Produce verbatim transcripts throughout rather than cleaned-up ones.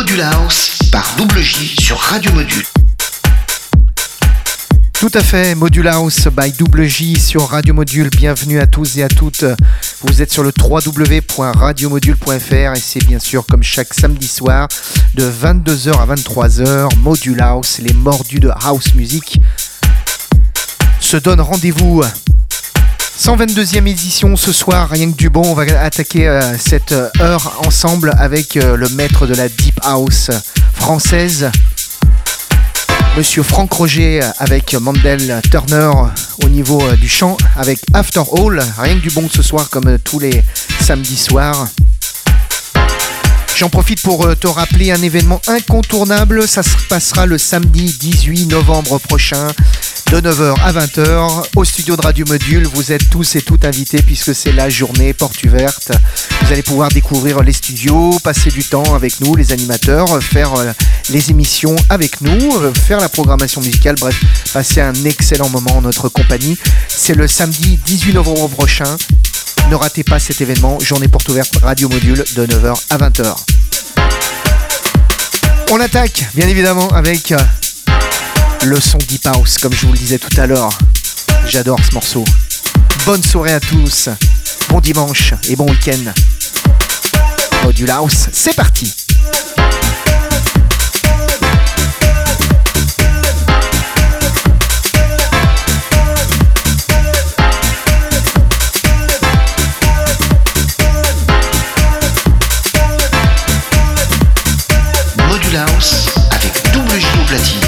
Module House par Double J sur Radio Module. Tout à fait, Module House by Double J sur Radio Module. Bienvenue à tous et à toutes. Vous êtes sur le w w w point radio module point f r et c'est bien sûr comme chaque samedi soir de vingt-deux heures à vingt-trois heures, Module House, les mordus de house music se donnent rendez-vous. cent vingt-deuxième édition ce soir, rien que du bon. On va attaquer euh, cette heure ensemble avec euh, le maître de la Deep House française, Monsieur Franck Roger, avec Mandel Turner au niveau euh, du chant, avec After All. Rien que du bon ce soir comme euh, tous les samedis soirs. J'en profite pour euh, te rappeler un événement incontournable. Ça se passera le samedi dix-huit novembre prochain de neuf heures à vingt heures au studio de Radio Module. Vous êtes tous et toutes invités puisque c'est la journée porte ouverte. Vous allez pouvoir découvrir les studios, passer du temps avec nous, les animateurs, faire euh, les émissions avec nous, euh, faire la programmation musicale, bref, passer un excellent moment en notre compagnie. C'est le samedi dix-huit novembre prochain. Ne ratez pas cet événement, journée porte ouverte Radio Module de neuf heures à vingt heures. On attaque bien évidemment avec euh, le son Deep House, comme je vous le disais tout à l'heure. J'adore ce morceau. Bonne soirée à tous, bon dimanche et bon week-end. Module House, c'est parti. Module House avec Double J au platine.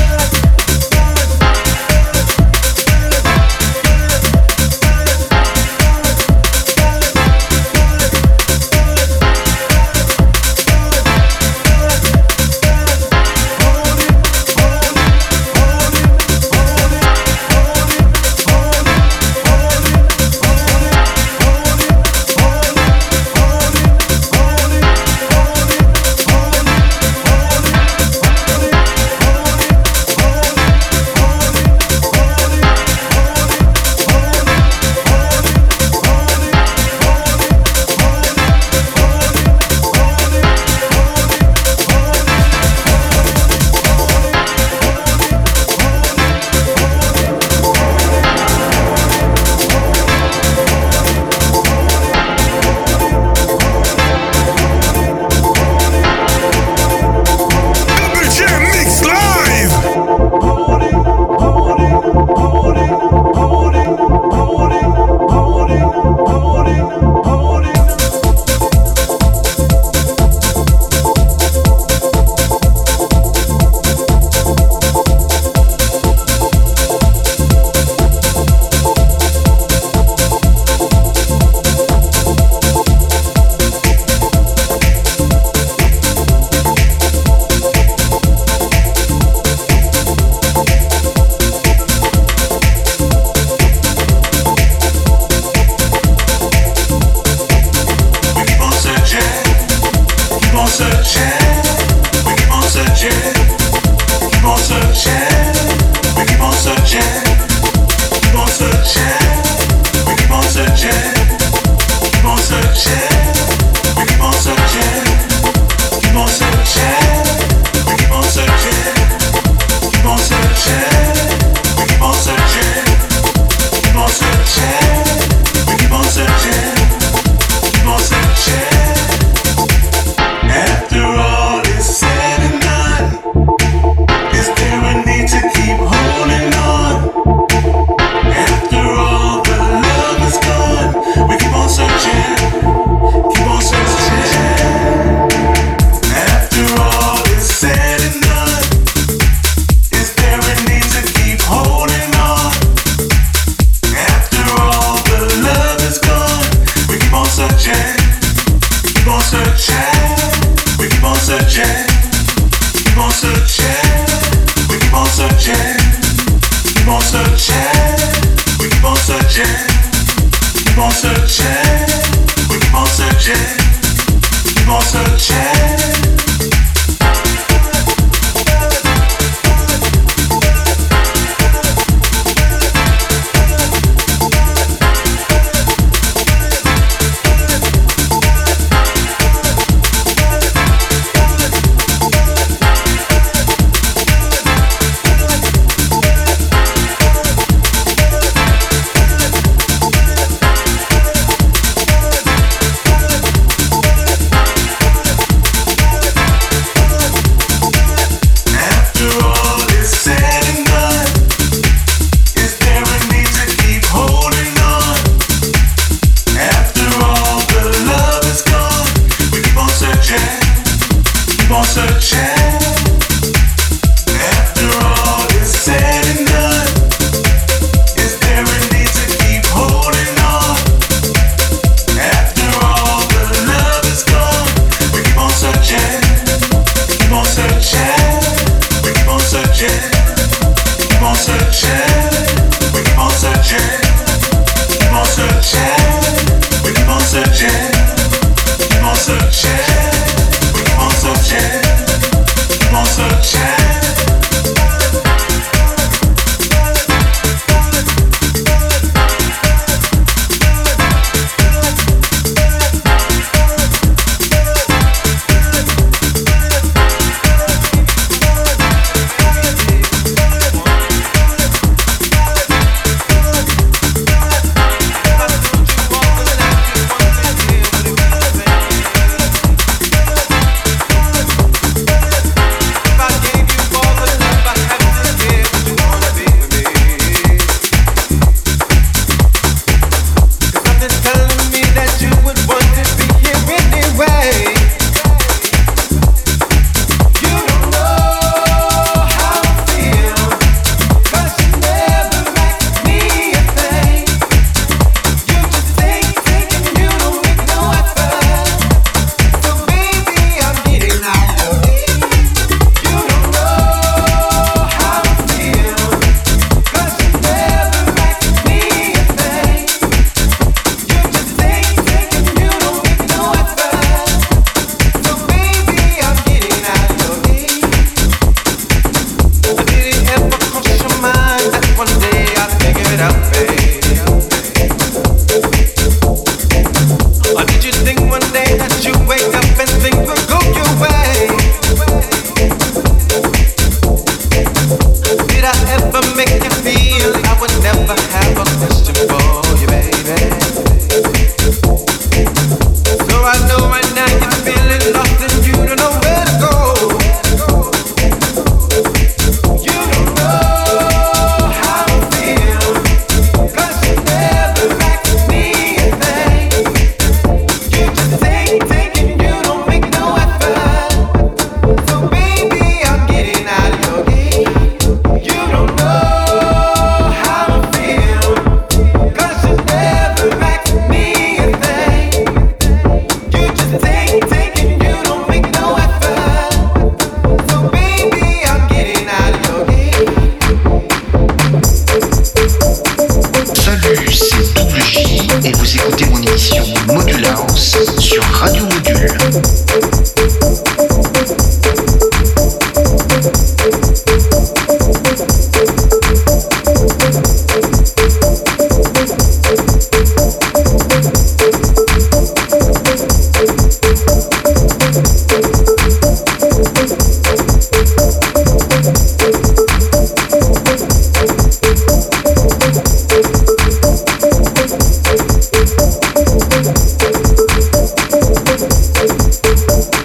We'll be right back.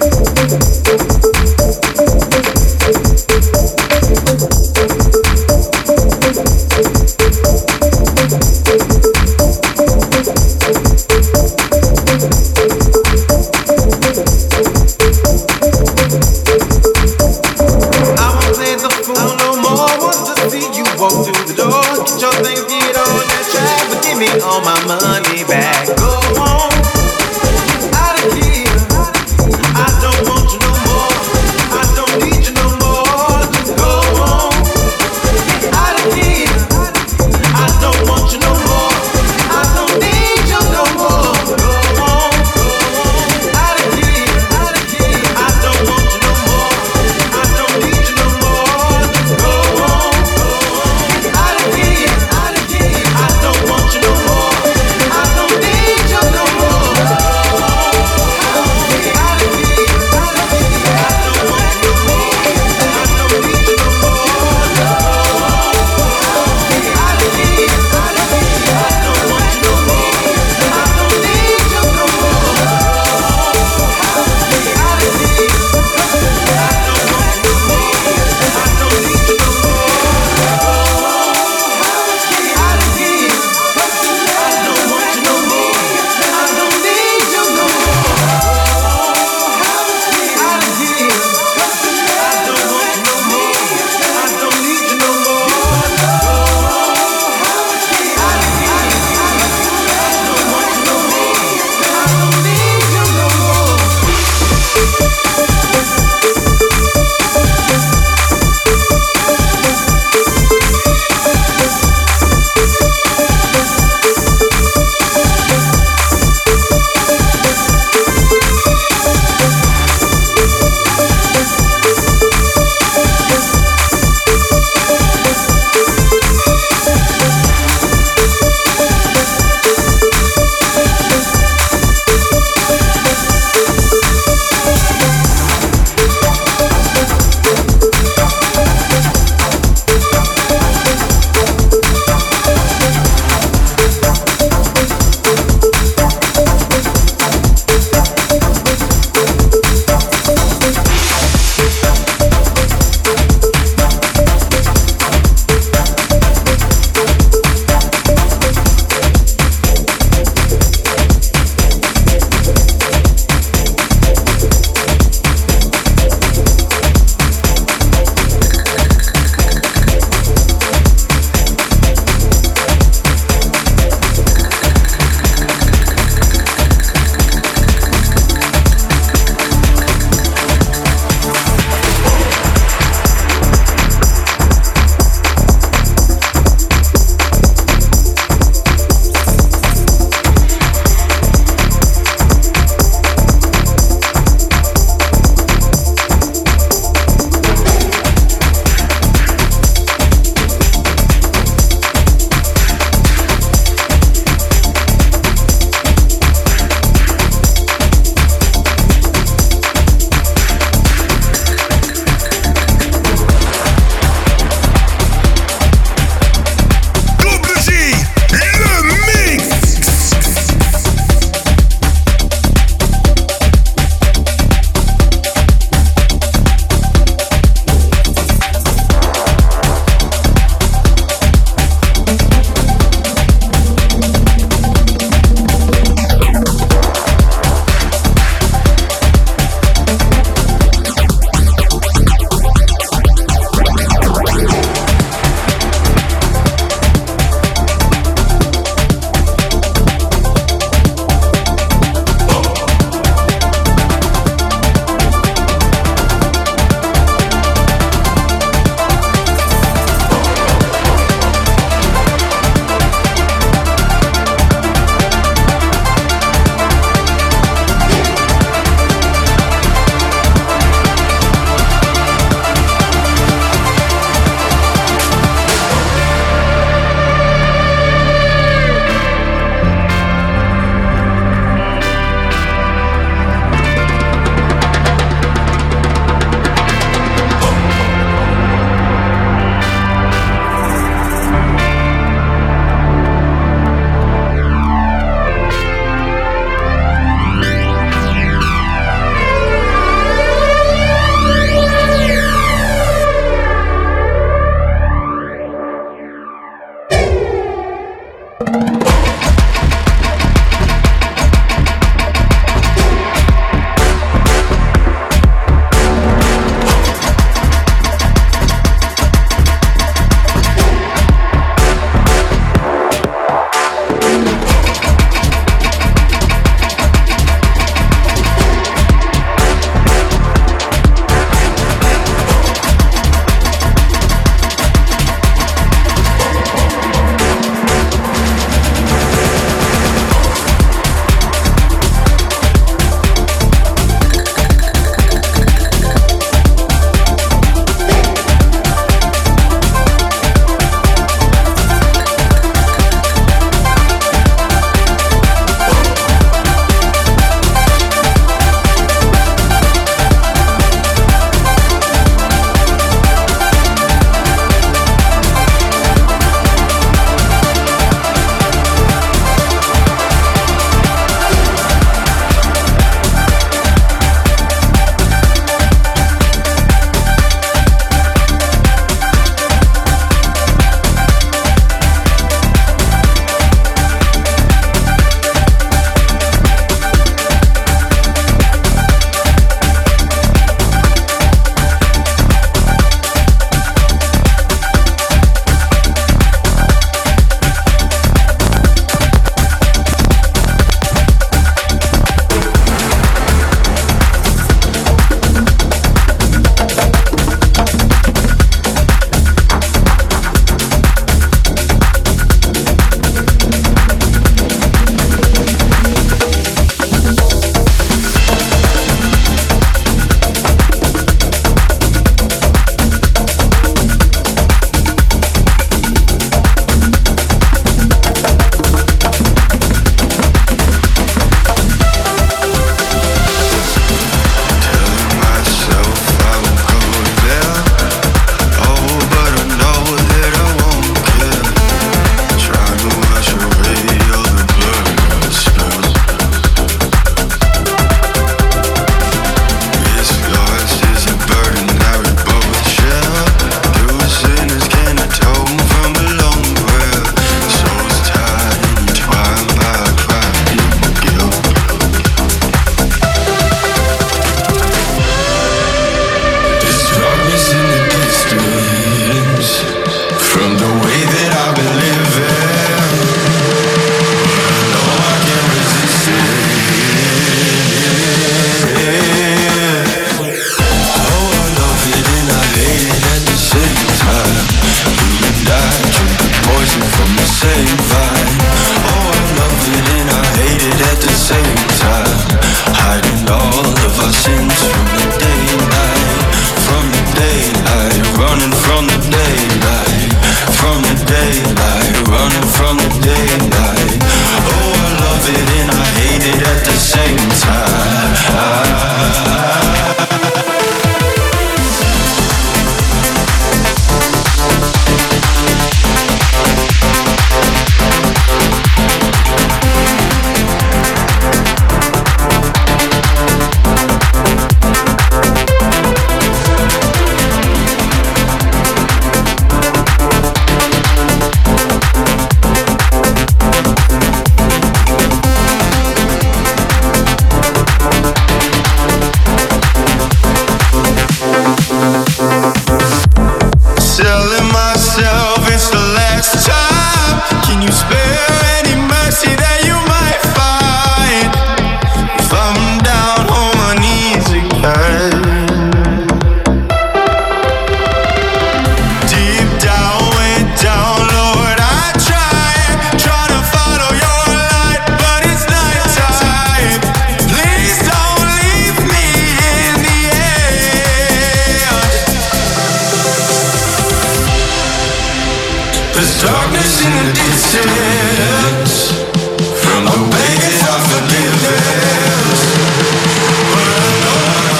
There's darkness in the distance from the way that I forgive it. But I know I'm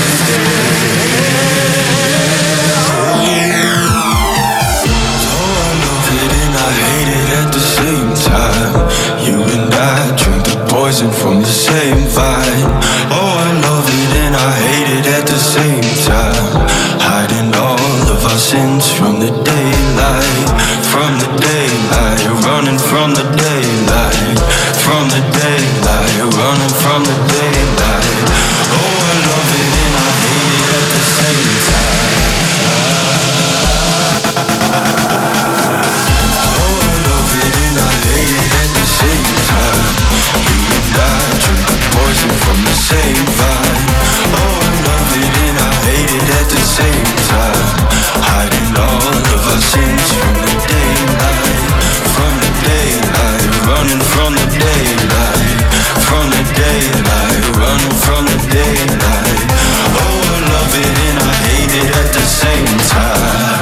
so I love it and I hate it at the same time. You and I drink the poison from the same vine. Oh, I love it and I hate it at the same time. Hiding all of our sins from the daylight, from the daylight, running from the daylight, from the daylight, running from the daylight. Oh, I love it and I hate it at the same time. Oh, I love it and I hate it at the same time. You and I drink the poison from the same vine. Oh, I love it and I hate it at the same time. Hiding all of our sins from the daylight, from the daylight, running from the daylight, from the daylight, running from the daylight. Oh, I love it and I hate it at the same time.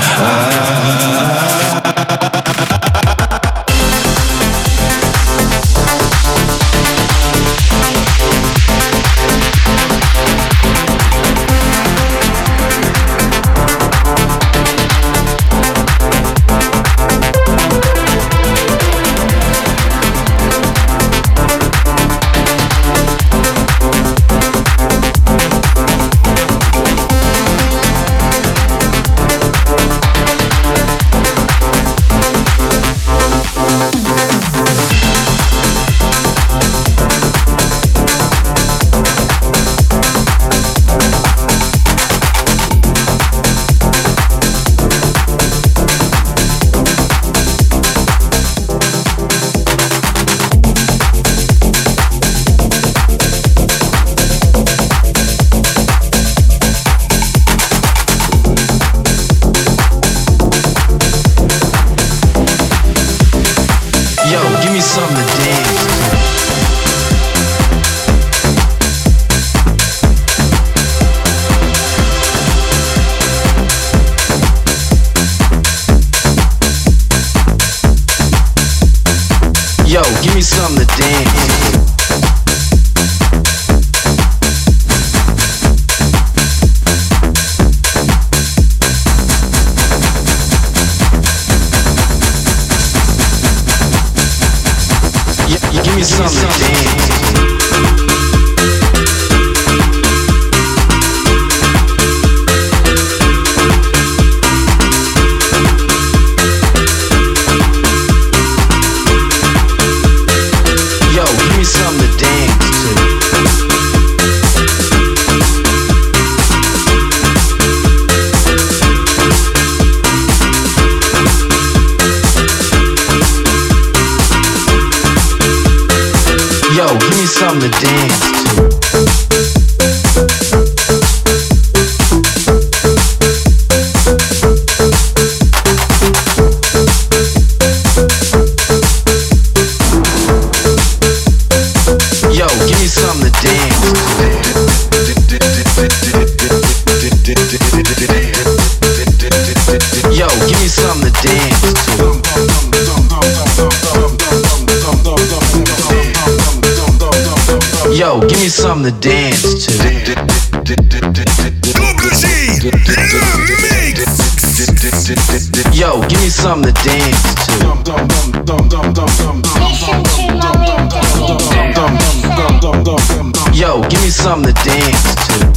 something to dance to. Yo, give me something to dance to. Yo, give me something to dance to. Yo, give me something to dance to. Double G, mix. Yo, give me something to dance to. Yo, give me something to dance to.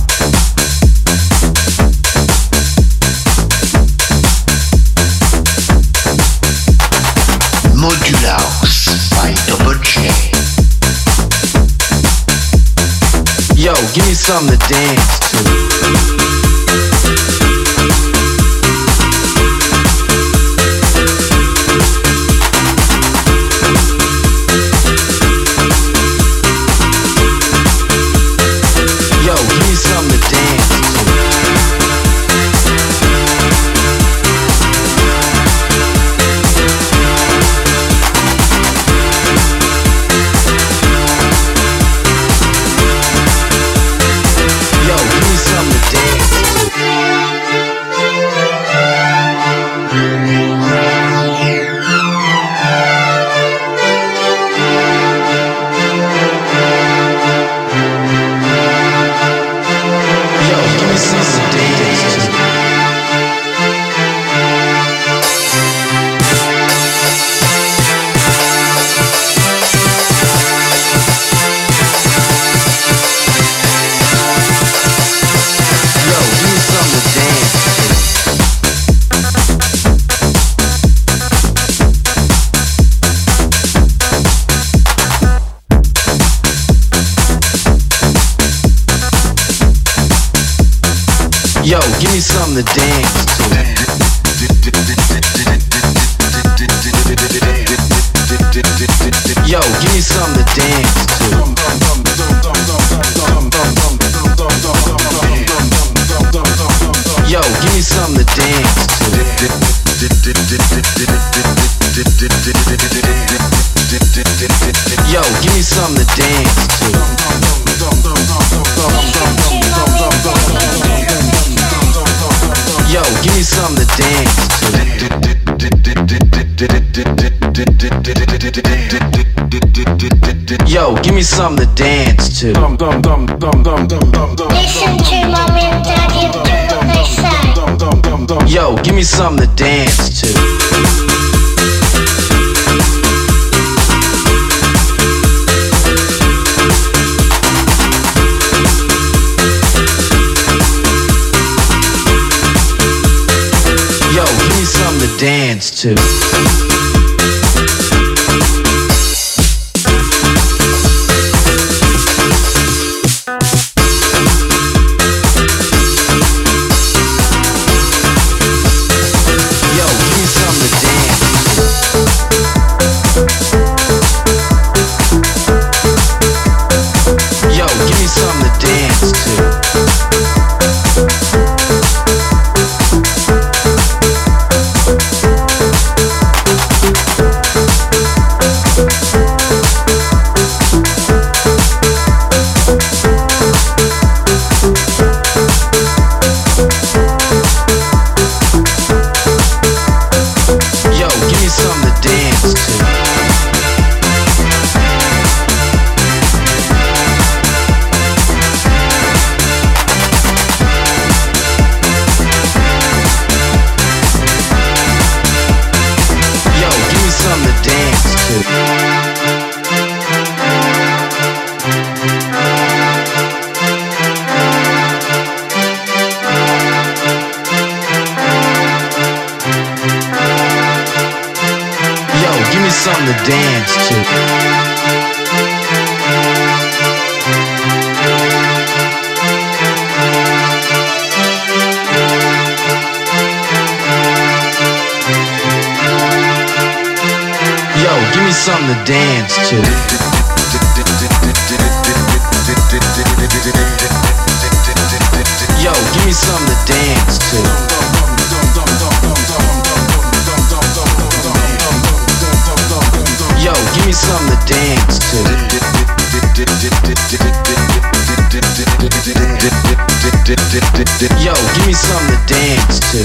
Modulhouse by Double J. Yo, give me something to dance to. Yo, give me something to dance. Yo, give me something to dance to. Yo, give me something to dance to. Yo, give me something to dance to. Yo, give me something to dance to. Yo, give me something to dance to. Yo, give me something to dance to. Listen to mommy and daddy and do what they say. Yo, give me something to dance to. To dance to. Something to dance to. Yo, give me something to dance to. Yo, give me something to dance to. Yo, give me something to dance to. Yo, give me something to dance to.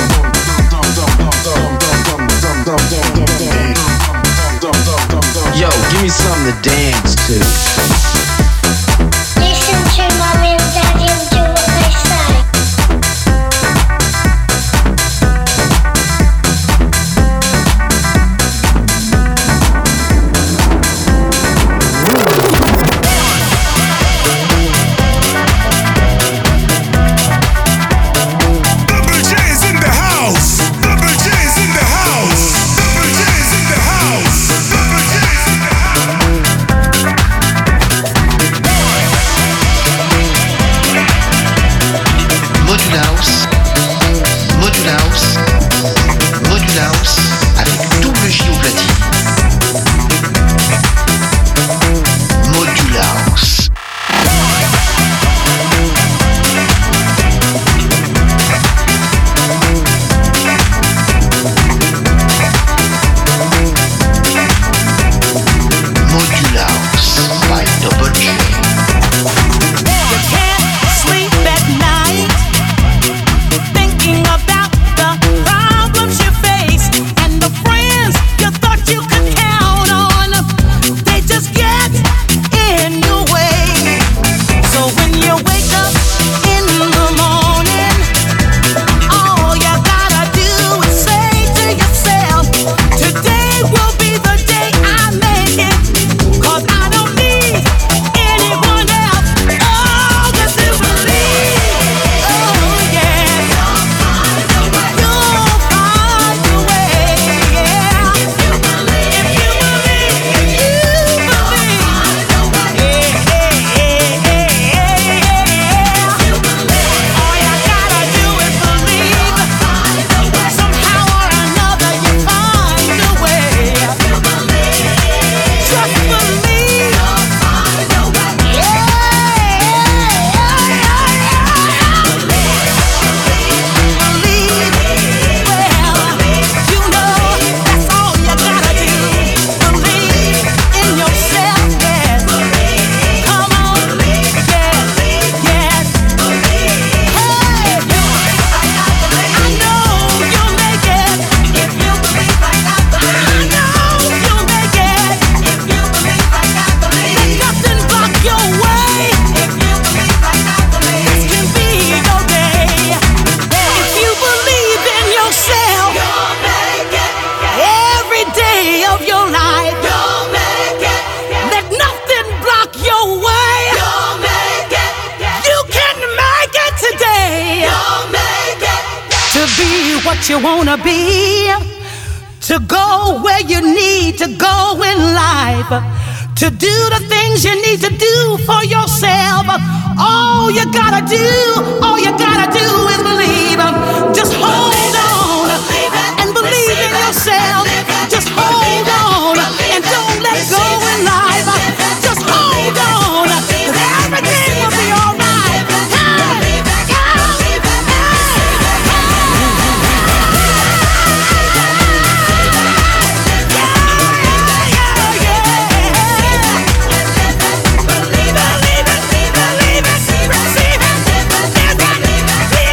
Yo, give me something to dance to. Listen to mommy and daddy and do what they say. what you wanna be, to go where you need to go in life, to do the things you need to do for yourself. All you gotta do, all you gotta do is believe. Just hold on and believe in yourself. Just hold on and don't let go in life. Just hold on, 'cause everything will be alright. Hey, hey, Believe it, believe it, receive it.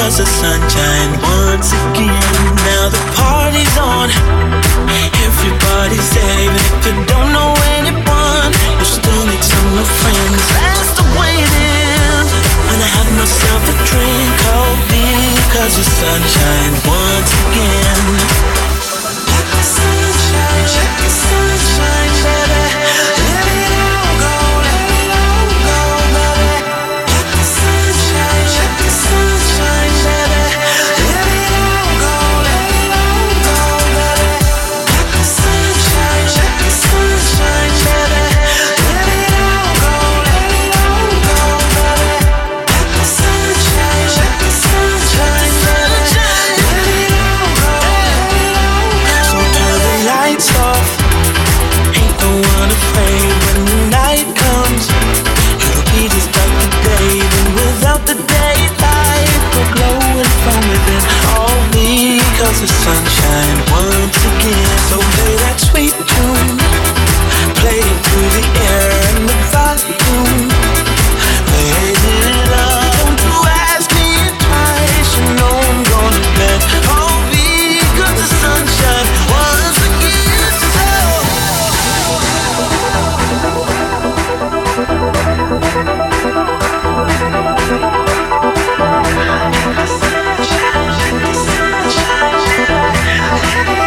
because the sunshine once again. Now the party's on, everybody's there. Even if you don't know anyone, you still need some new friends. That's the way it is. When I have myself a drink, oh, because the sunshine once again. Let the sunshine, let the sunshine, baby. Let it all go, let it all go, baby. Let the sunshine, let the sunshine, baby. Let it all go, let it all go, baby. Let the sunshine, let the sunshine, baby. Let it all go, let it all go, baby. Let the sunshine, let the sunshine, baby. Let it all go, let it all go. So turn the lights off. Ain't no one afraid when the night comes. It'll be just like the day, but without the daylight, we're glowing from within. All because the sunshine once again. So play that sweet tune, play it through the air and the volume. Raise it up, don't you ask me twice. You know I'm gonna bet. All because the sunshine once again. So let the sunshine, let the sunshine, let it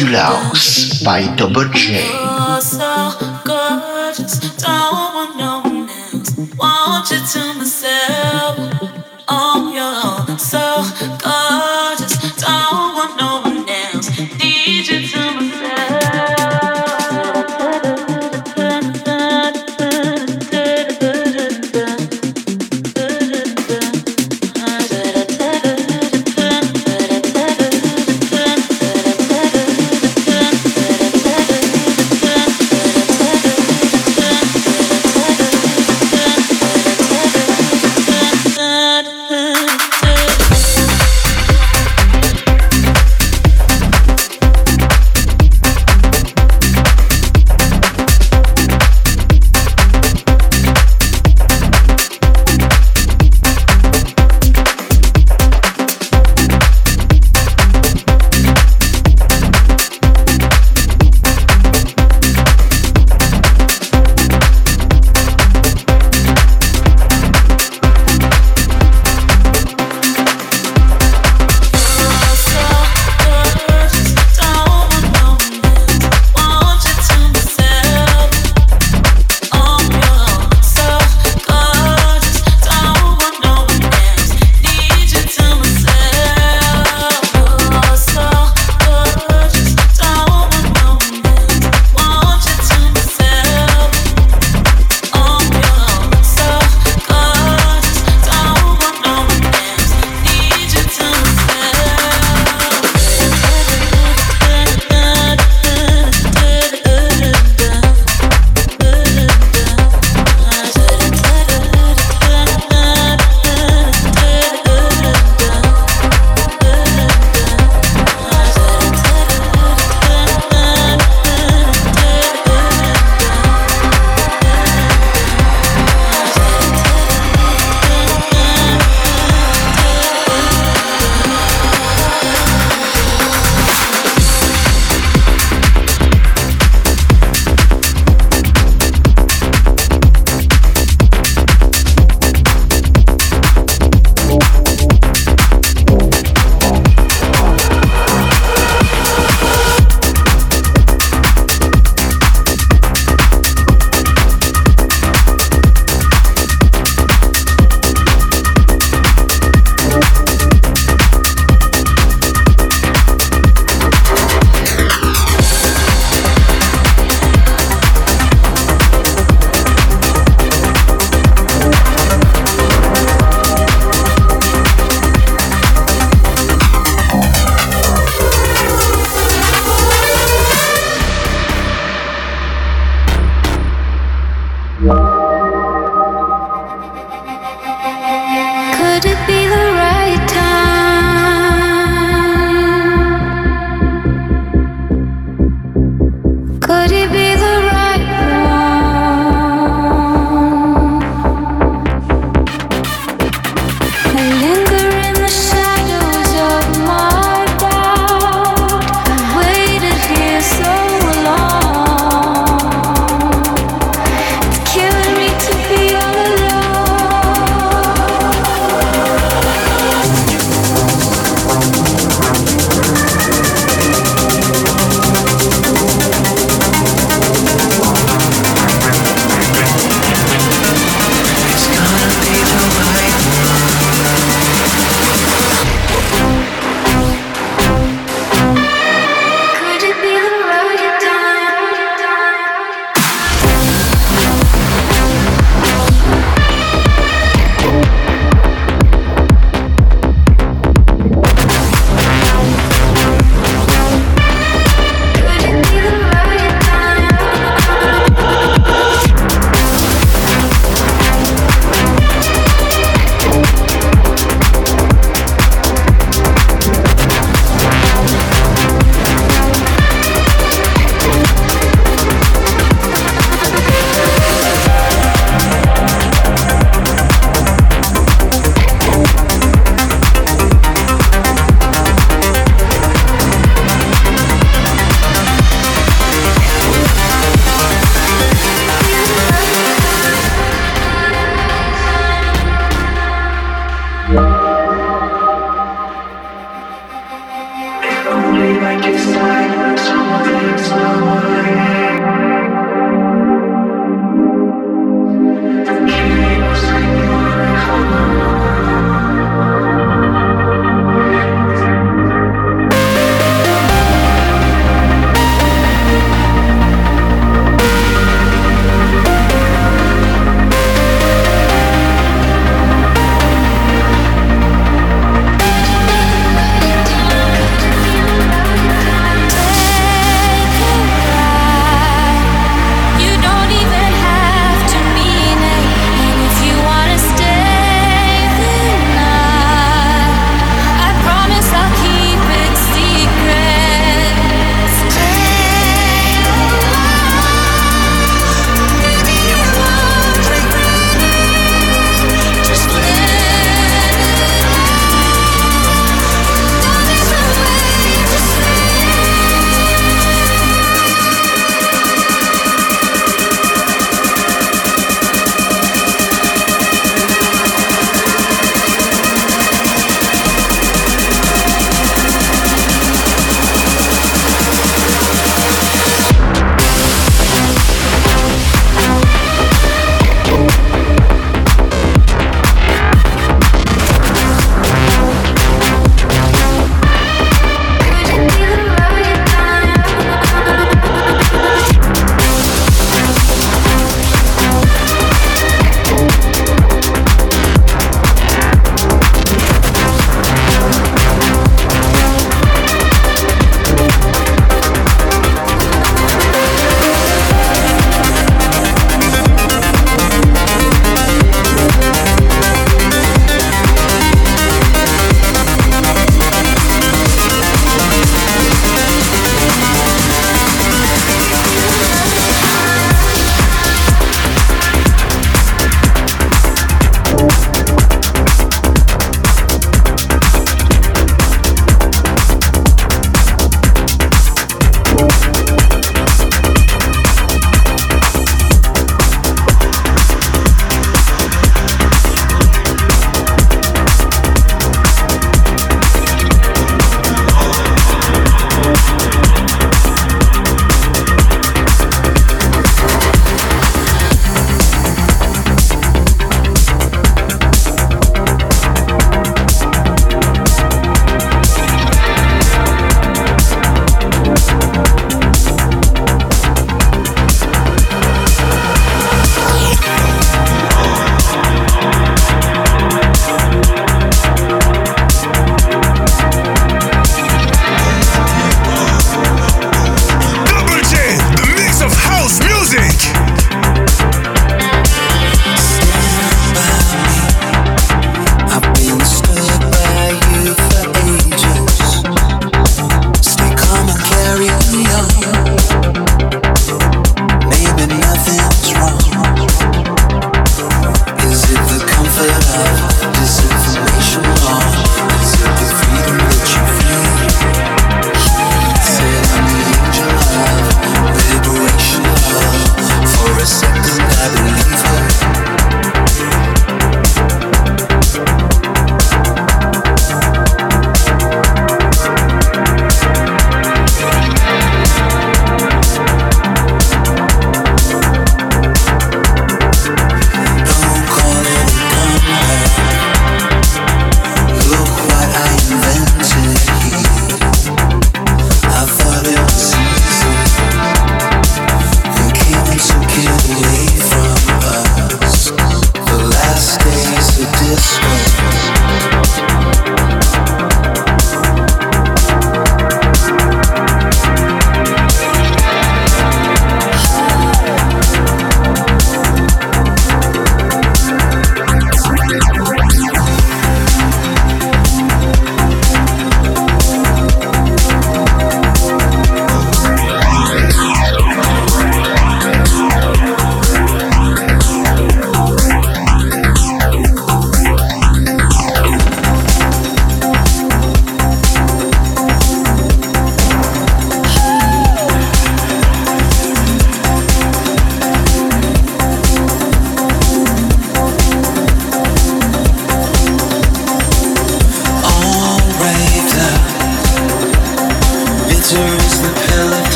Module House by Double J. You're so gorgeous, don't want no one else. Want you to myself. Oh, you're so gorgeous, don't want no one else. Need you to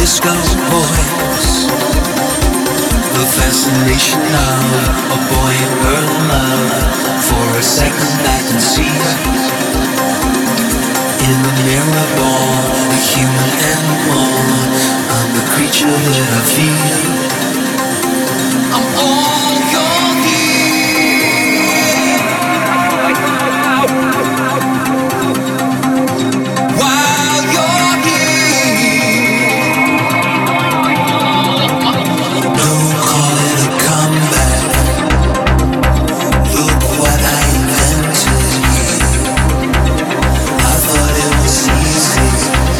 disco voice. The fascination of a boy and girl in love. For a second I can see in the mirror born, a human animal. I'm the creature that I feel. I'm all your need. While you're here, don't call it a comeback. Look what I invented. I thought it was easy.